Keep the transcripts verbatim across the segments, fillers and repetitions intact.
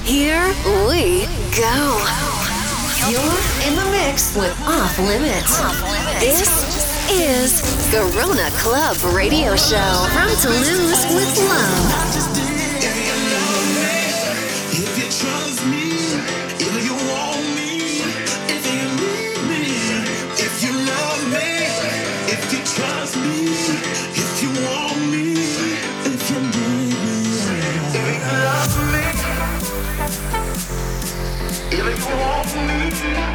Here we go. You're in the mix with Off Limits. This is Garona Club Radio Show from Toulouse with love. If you trust me, if you want me, if you need me, if you love me, if you trust me, if you want me, if you need me, if you love me, if you want me, if you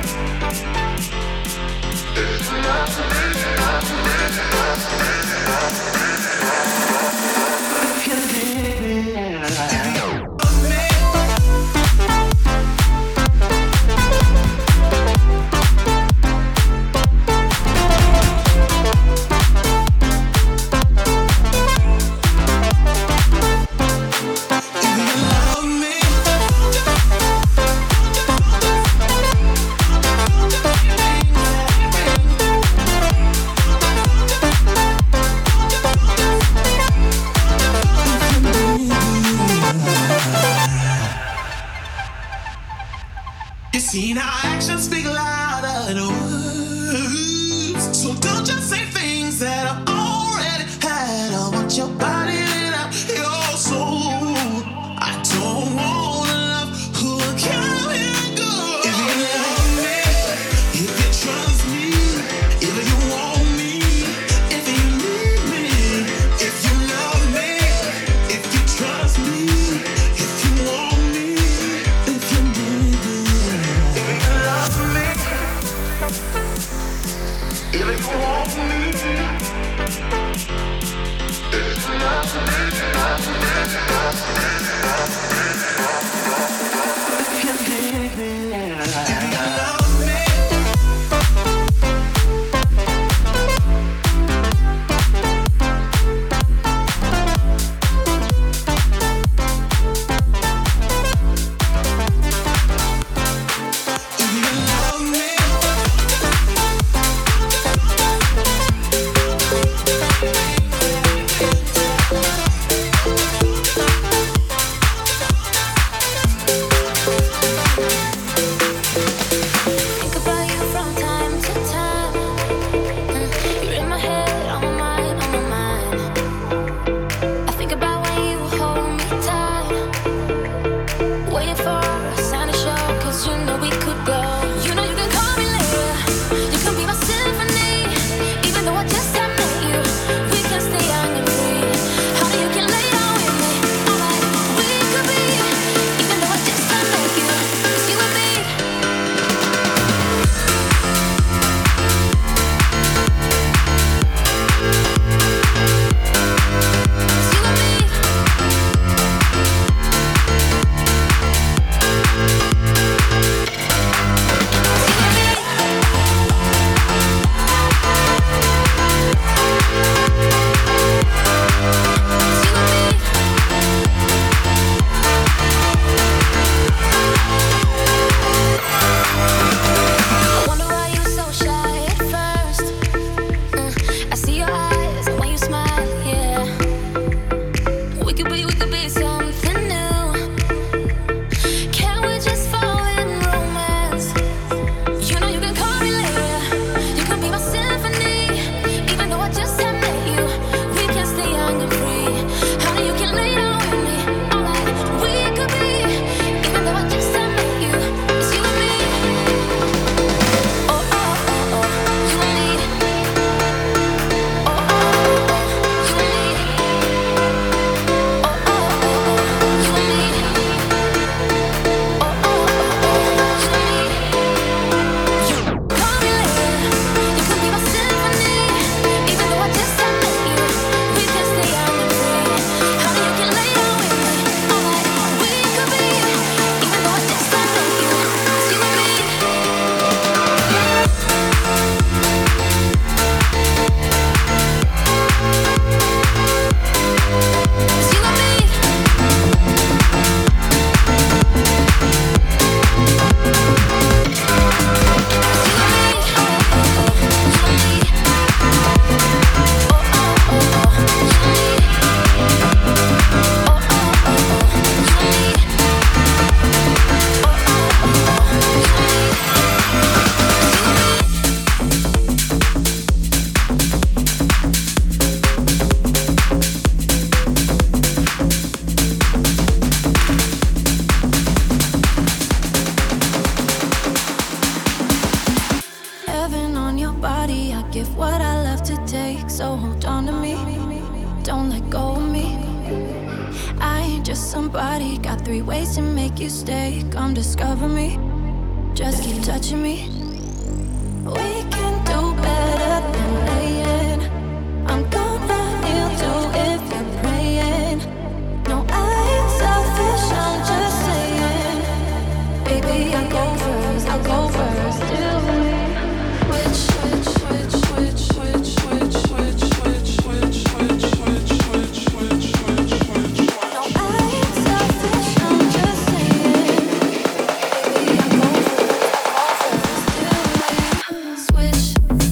love me, love me, love me, love me. See, now actions speak louder than words. So don't just say things that I've already had. I want your body lit up, your soul. I don't want love who will come and go. If you love me, if you trust me, if you want me, if you need me, if you love me, if you trust me, if you want me, if you need me. If you want me, if you love body. Got three ways to make you stay. Come discover me. Just keep touching me. We can do better than laying. I'm gonna kneel to if you're praying. No, I ain't selfish, I'm just saying. Baby, I'll go first, I'll go first. Till we switch, switch, switch, switch, switch, switch, switch, switch, switch, switch, switch, switch, switch, switch, switch. No, I ain't selfish, I'm just saying. Baby, I'll go first, I'll go first. Till we switch.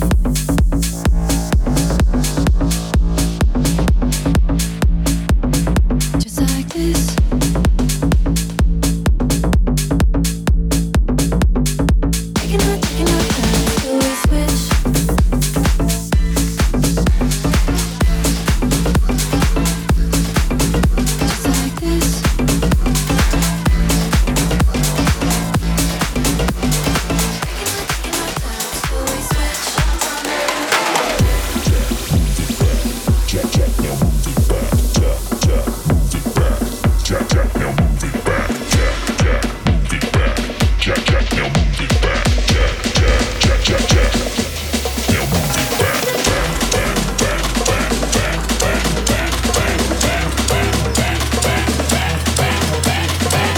Just like this. Taking our, taking our time till we switch. Just like this. Taking our, taking our time till we switch. Jack, Jack, now move it back. Jack, Jack, move it back. Jack, Jack, now move it back. Jack, Jack, move it back. Jack, Jack, now move it back. Jack, Jack, Jack, Jack, Jack. Now move it back, back, back, back, back, back, back, back, back, back, back, back, back, back, back, back, back,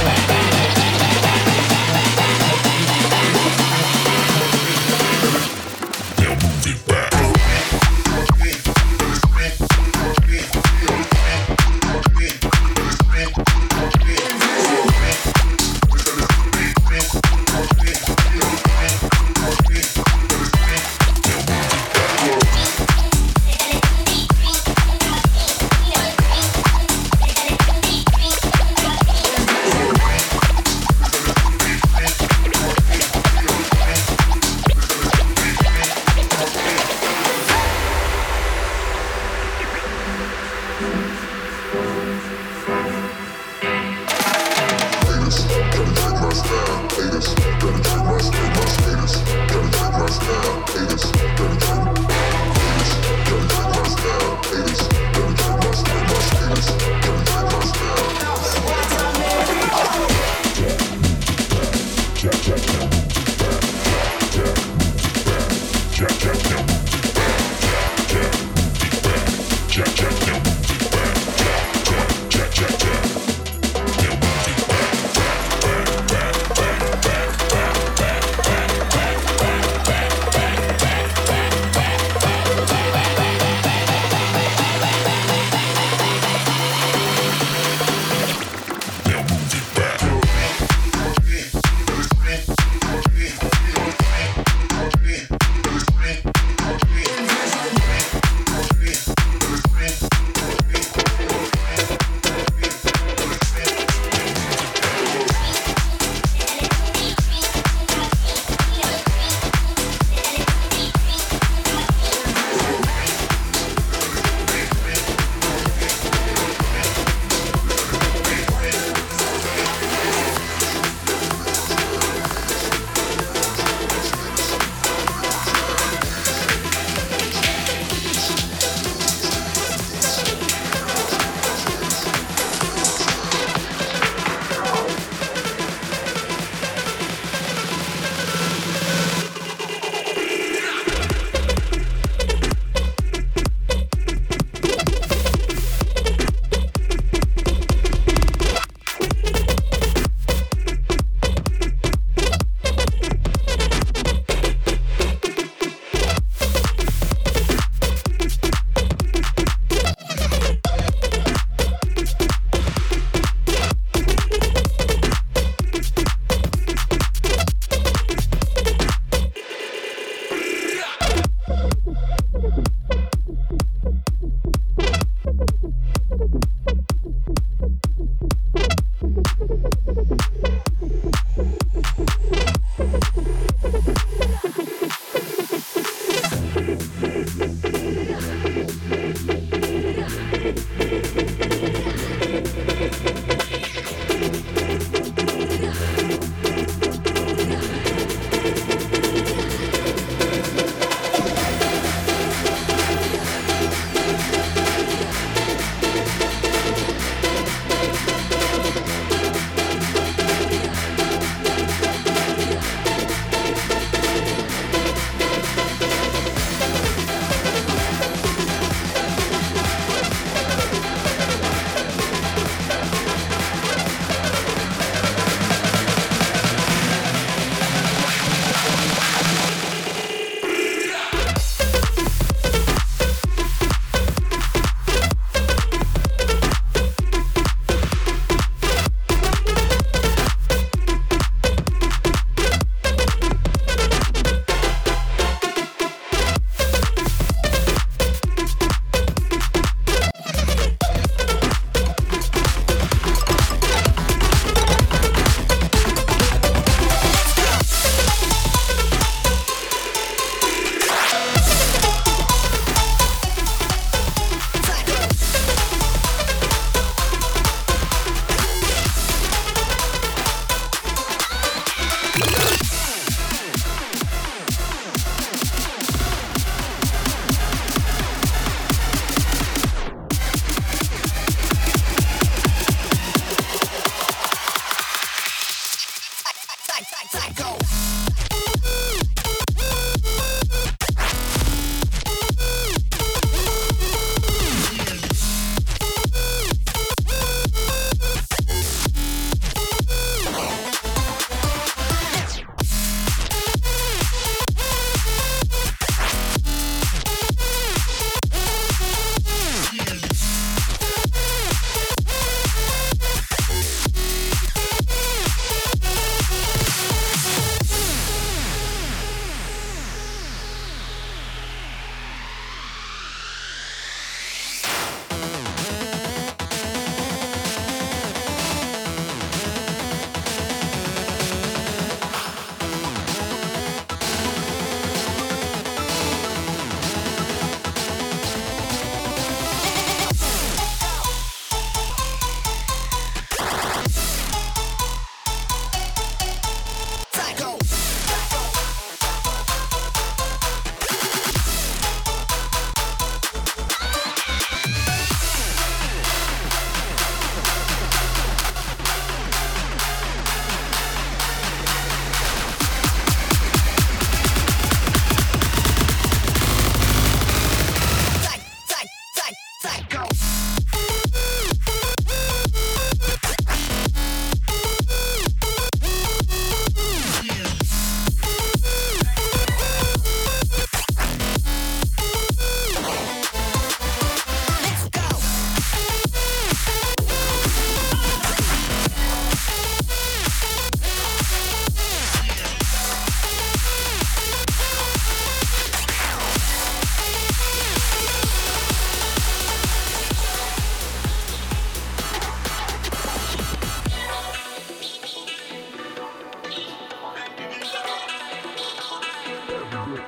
now move it back.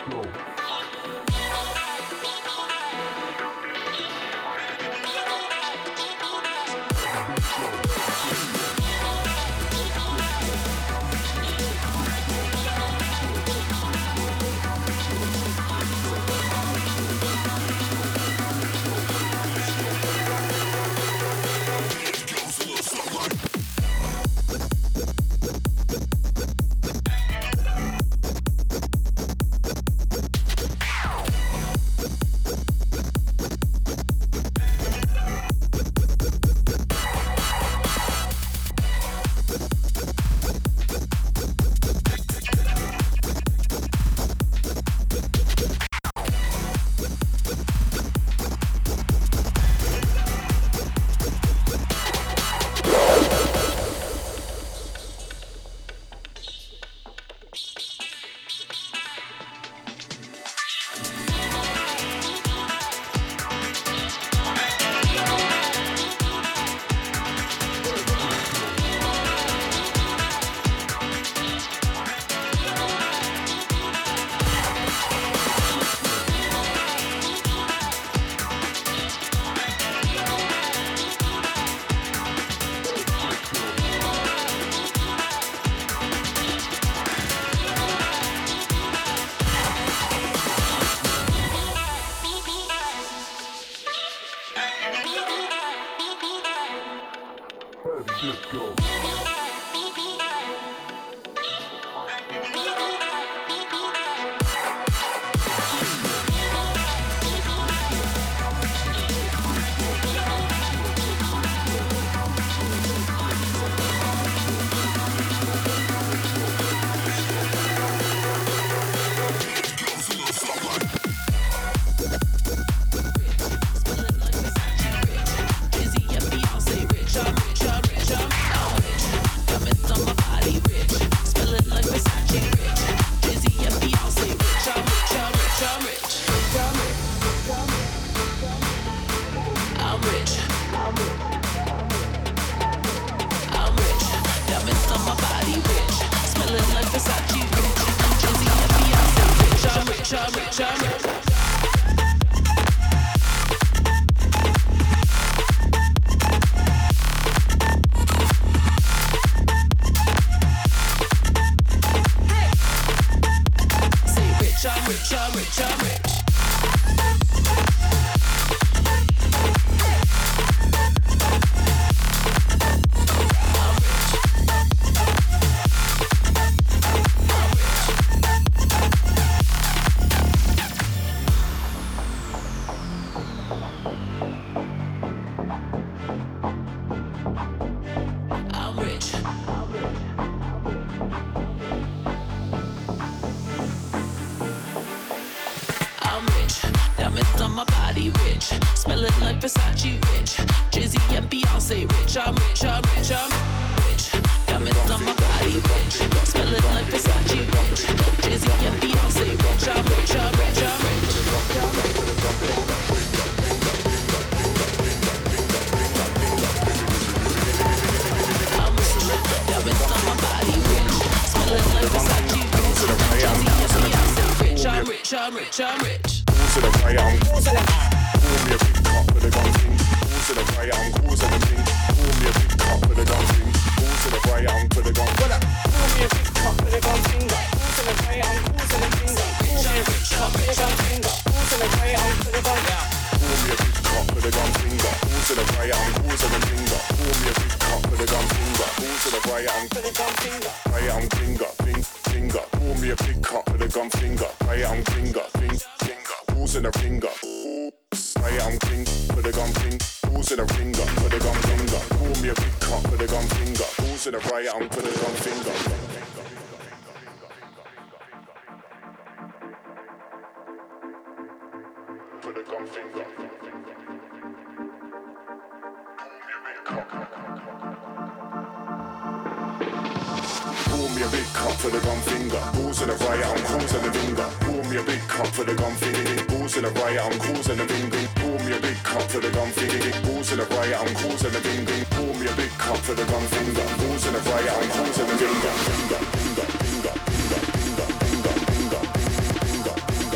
Finger, finger, finger, finger, finger, finger, finger, finger, finger, finger,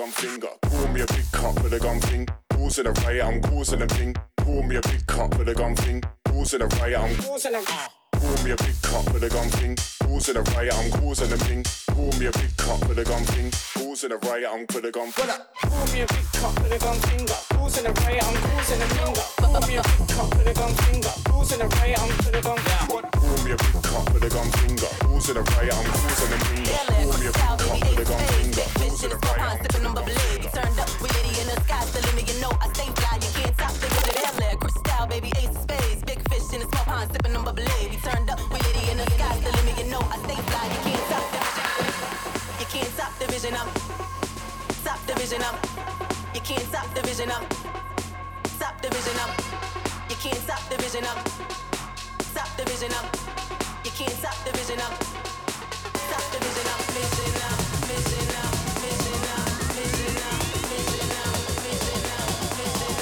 gun finger. Call me a big cup with a gun thing. Causing a riot, I'm causing a thing. Call me a big cup with a gun thing. Causing a riot, I'm causing a uh. Call me a big cup with a gun thing. Causing a riot, I'm causing a thing. Call me a big cup with a gun thing. Causing a riot, I'm with a gun thing. Call me a big cup with a gun finger. Causing a riot, I'm causing a finger. Call me a big cup with a gun finger. Causing a riot, I'm with a gun finger. Call me a big cup with a gun finger. Causing a riot, I'm causing a finger. Call me a big cup with a gun finger. Causing a riot, I'm sipping on bubbly. Turned up, we litty in the sky, the limit, you know I stay fly. You can't stop the good of that crystal, baby, ace of spades. Big fish in a small pond, sipping on bubbly. We turned up, we litty in the sky, the limit, you know I stay fly. You can't stop the You can't stop the vision up. Stop the vision up. You can't stop the vision up. Stop the vision up. You can't stop the vision up. Stop the vision up. You can't stop the vision up. Stop the vision up. Vision up. Vision up. Vision up. Vision up. Vision up. Vision up. Vision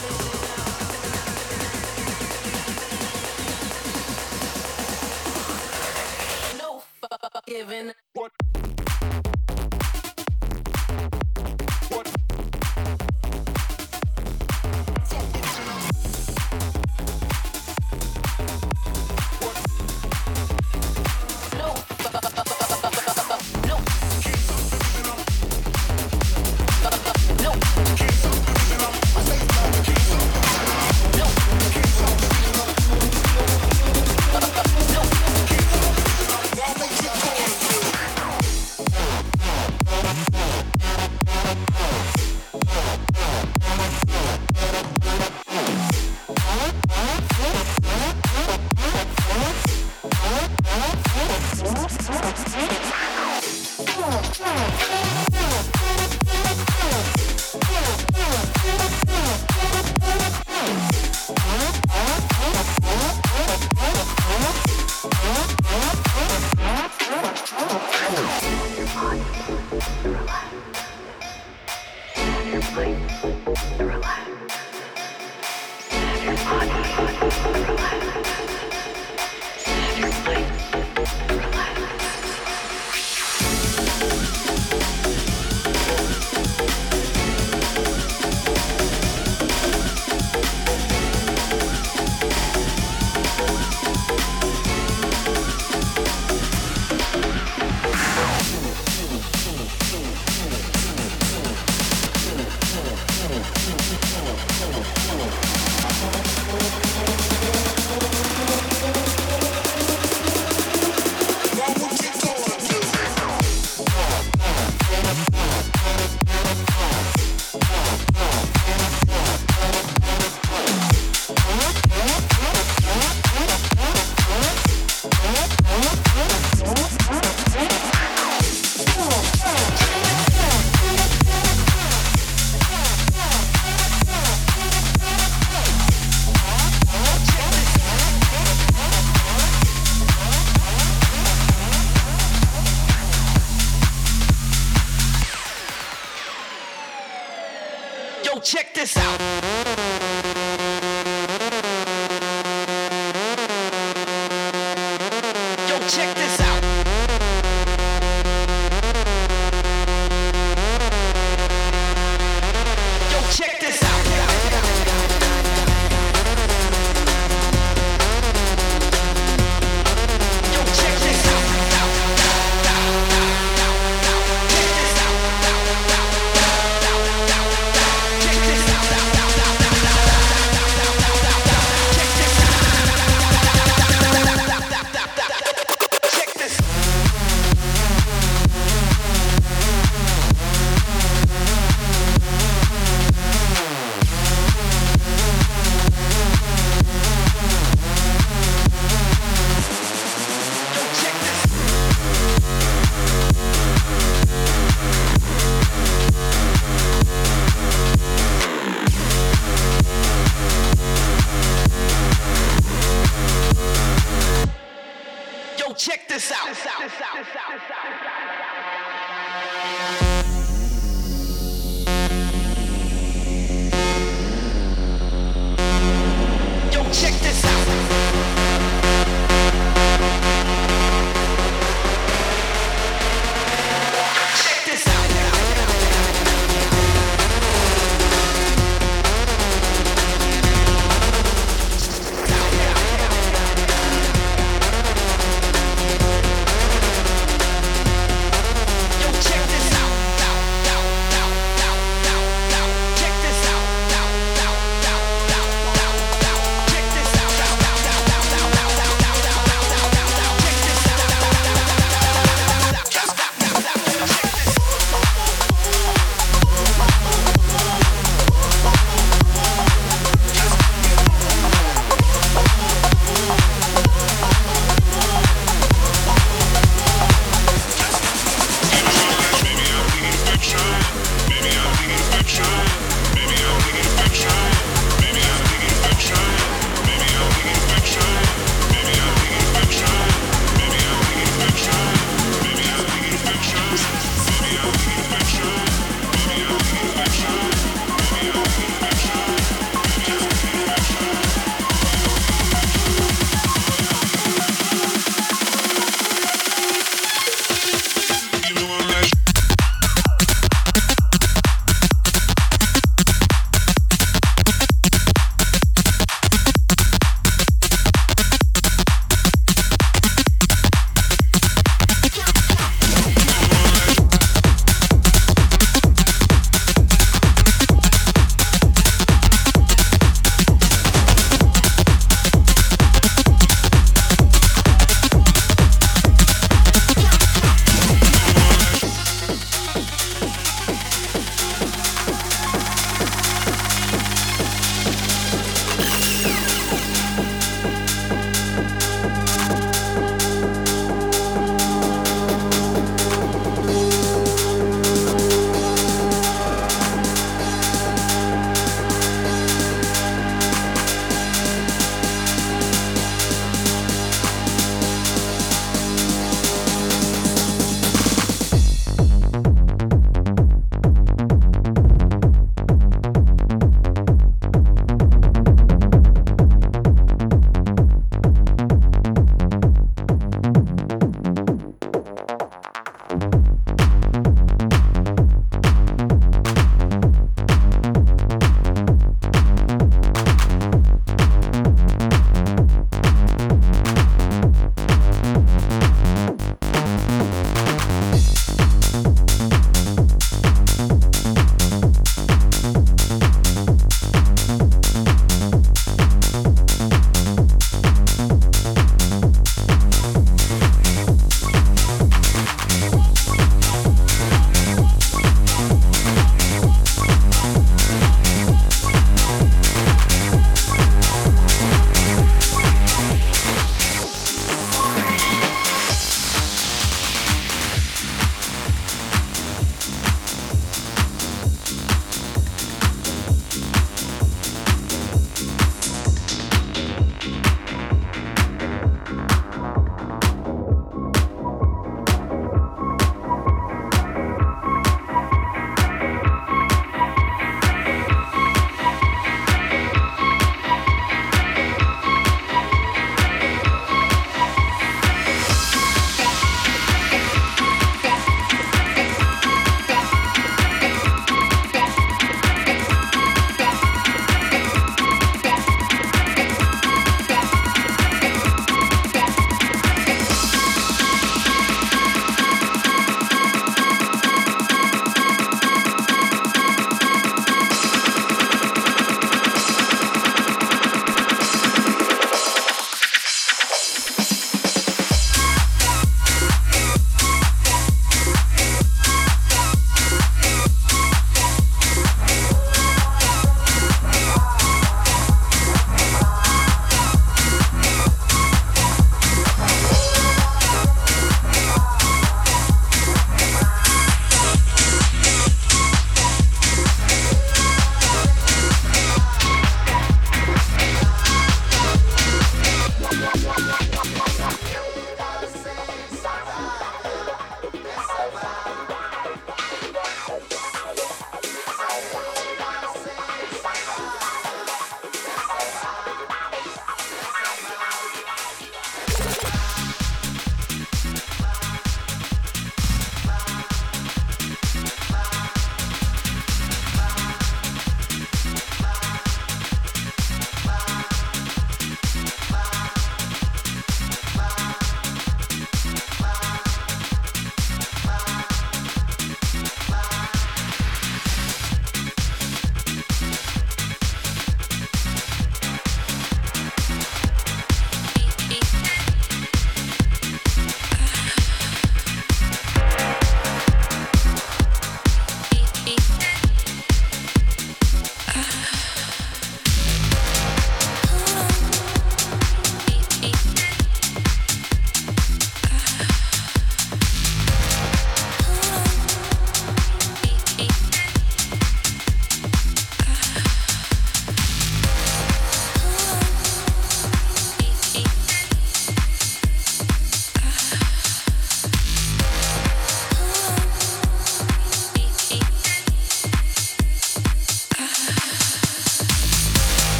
up. No fuck giving. What? Check this out. Yo, check this out. Yo, check this out. Yo, check this out. Check this out.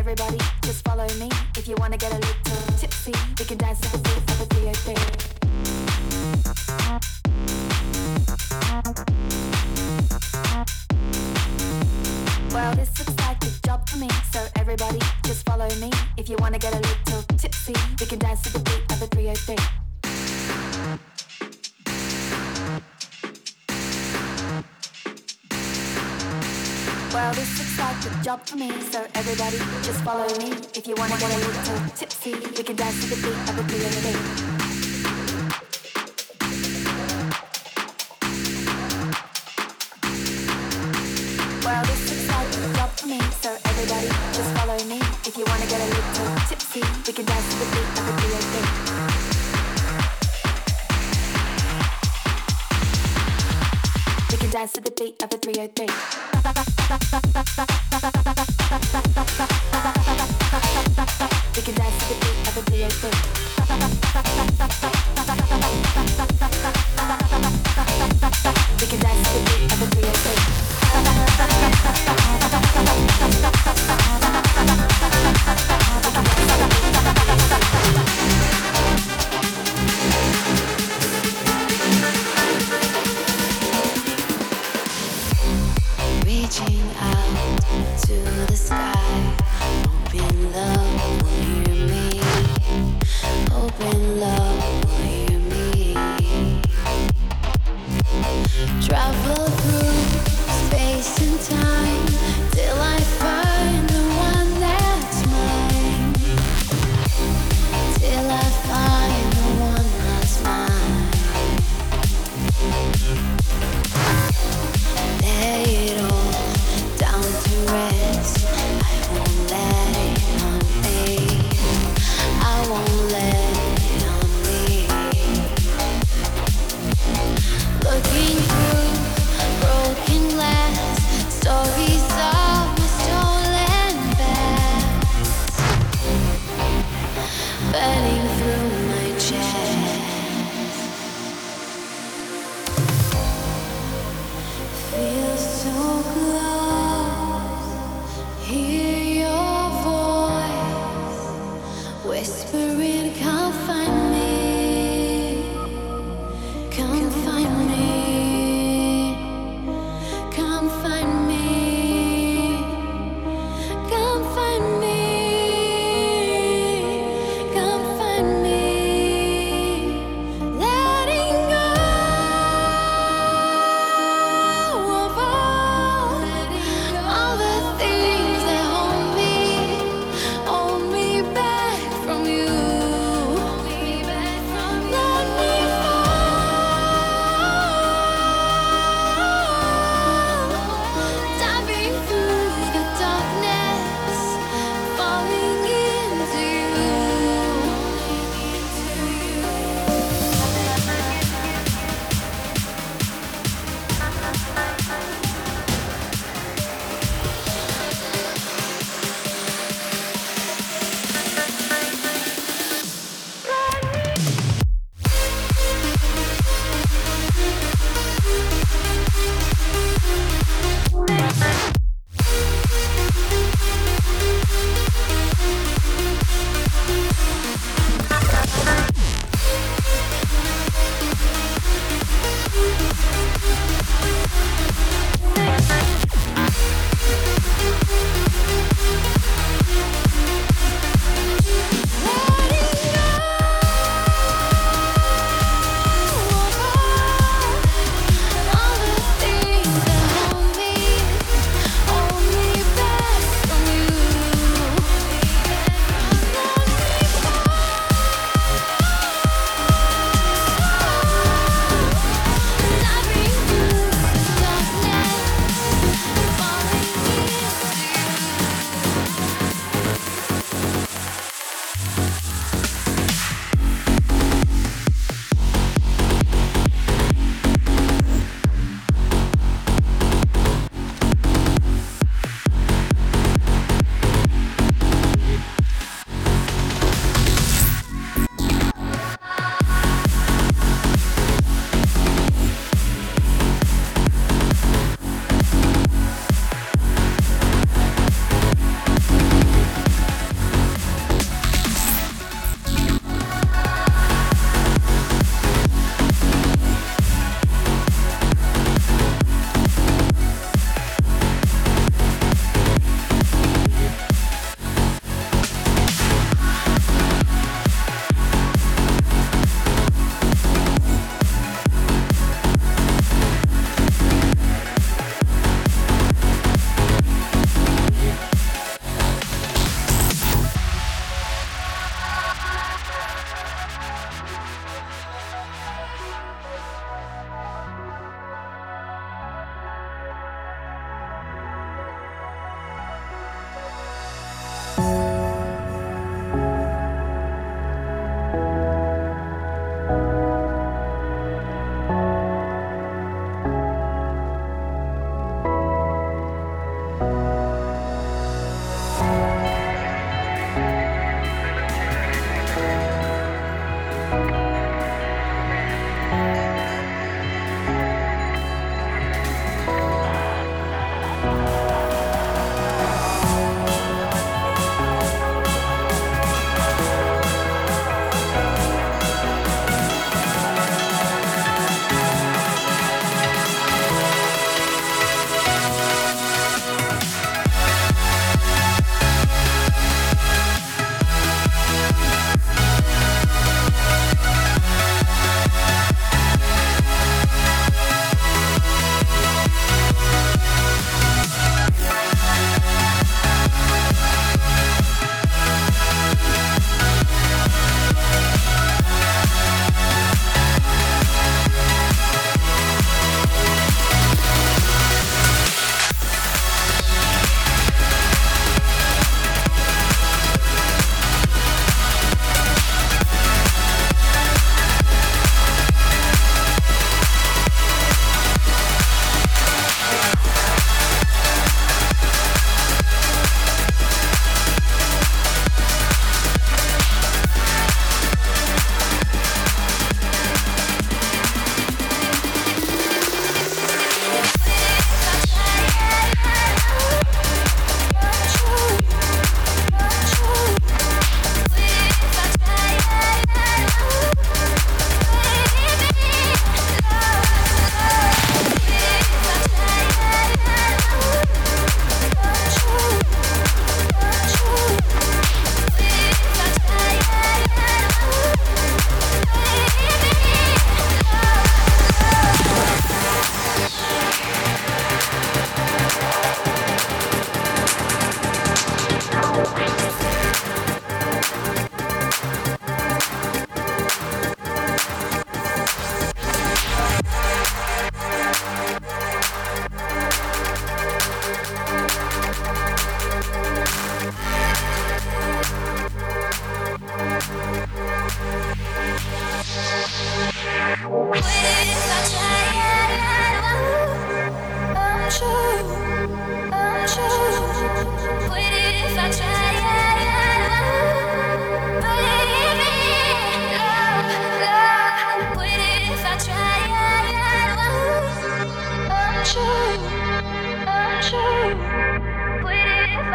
everybody just follow me. If you wanna get a little tipsy, we can dance to the beat of the three oh three. Well, this looks like a job for me, so everybody just follow me. If you wanna get a little tipsy, we can dance to the beat of the three oh three. Well, this looks like a job for me, so everybody just follow me. If you wanna get a little tipsy, we can dance to the beat of the three oh three. Well, this looks like a job for me, so everybody just follow me. If you wanna get a little tipsy, we can dance to the beat of the three oh three. We can dance to the beat of the three oh three. We can dance to the beat of the three oh three. We can dance to the beat of the three oh three. Reaching out to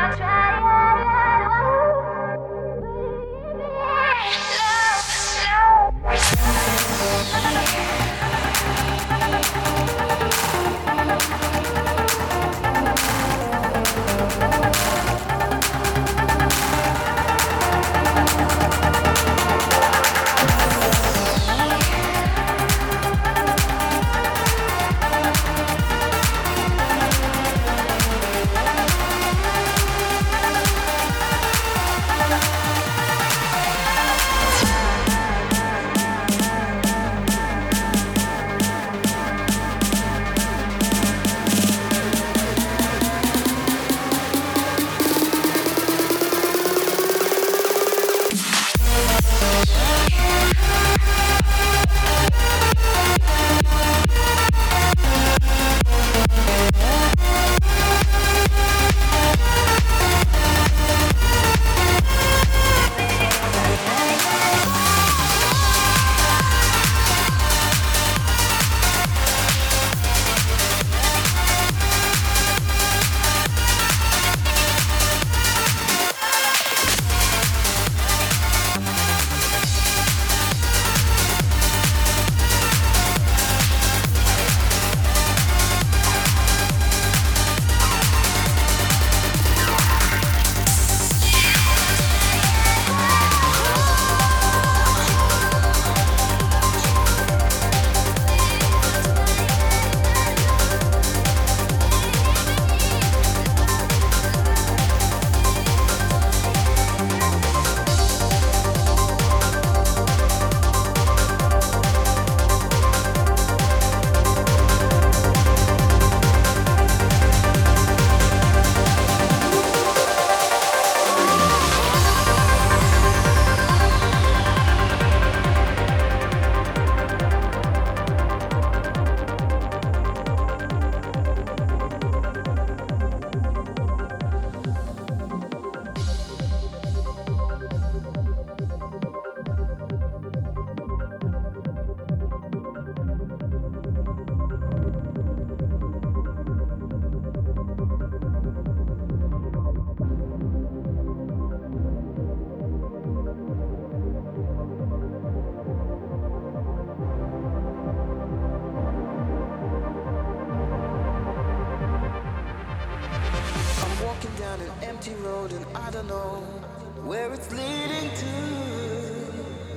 don't know where it's leading to.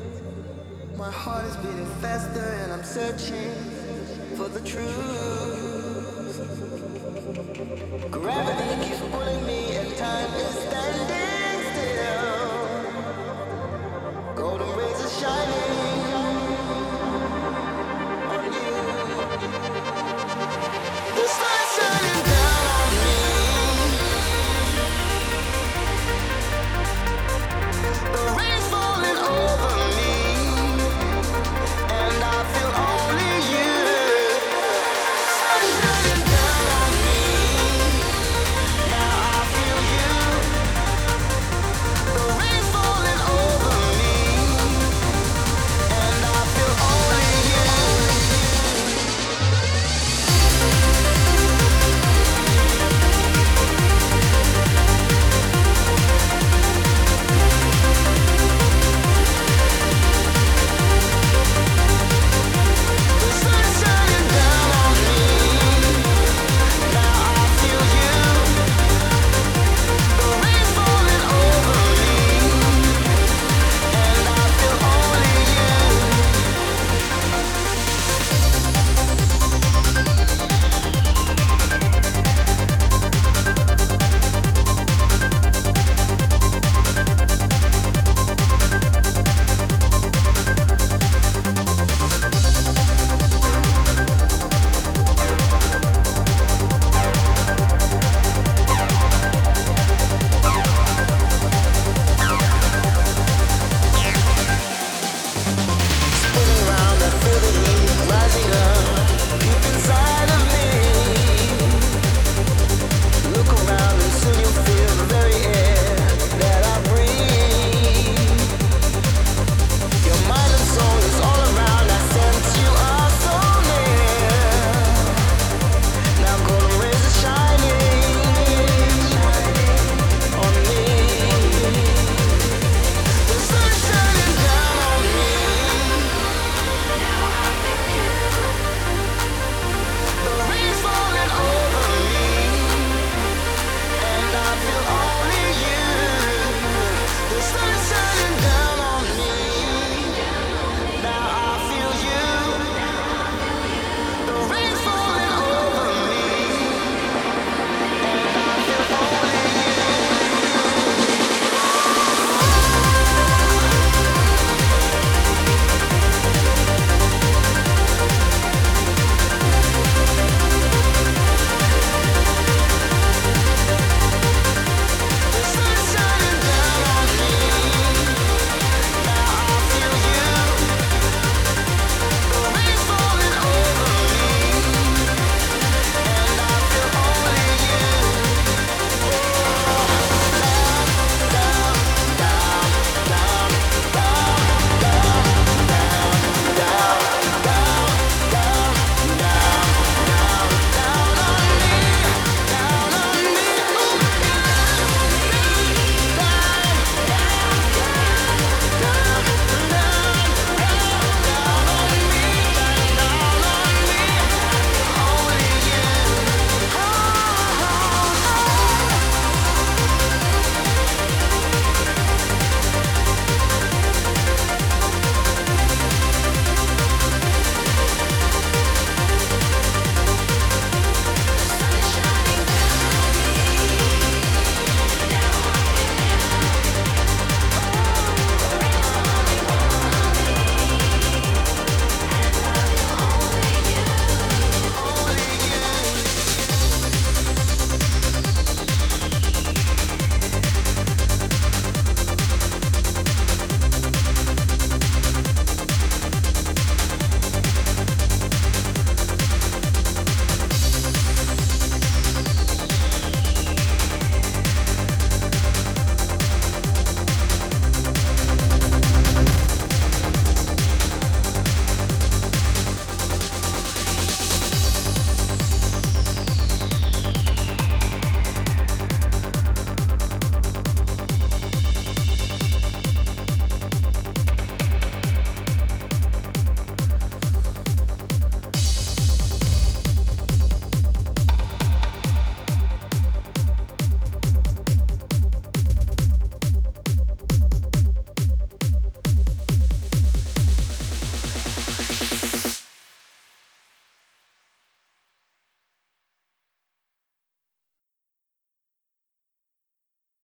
My heart is beating faster and I'm searching for the truth.